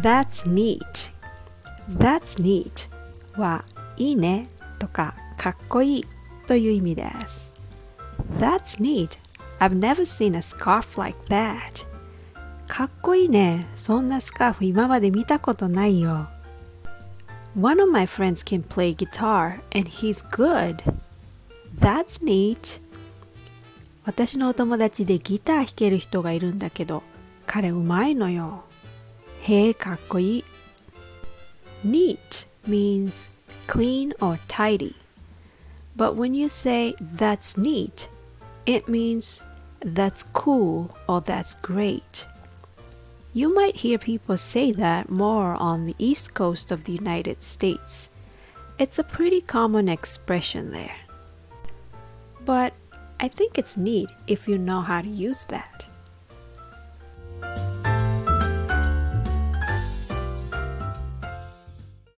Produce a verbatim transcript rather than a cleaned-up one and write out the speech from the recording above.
That's neat. That's neat はいいねとかかっこいいという意味です。That's neat. I've never seen a scarf like that. かっこいいね。そんなスカーフ今まで見たことないよ。One of my friends can play guitar and he's good. That's neat. 私のお友達でギター弾ける人がいるんだけど、彼うまいのよ。へえ、かっこいい。Neat means clean or tidy. But when you say that's neat, it means that's cool or that's great. You might hear people say that more on the East Coast of the United States. It's a pretty common expression there. But I think it's neat if you know how to use that.